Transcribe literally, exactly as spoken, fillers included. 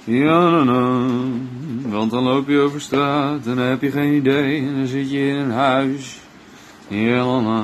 Ja, na, na. Want dan loop je over straat en dan heb je geen idee en dan zit je in een huis. Ja, na, na.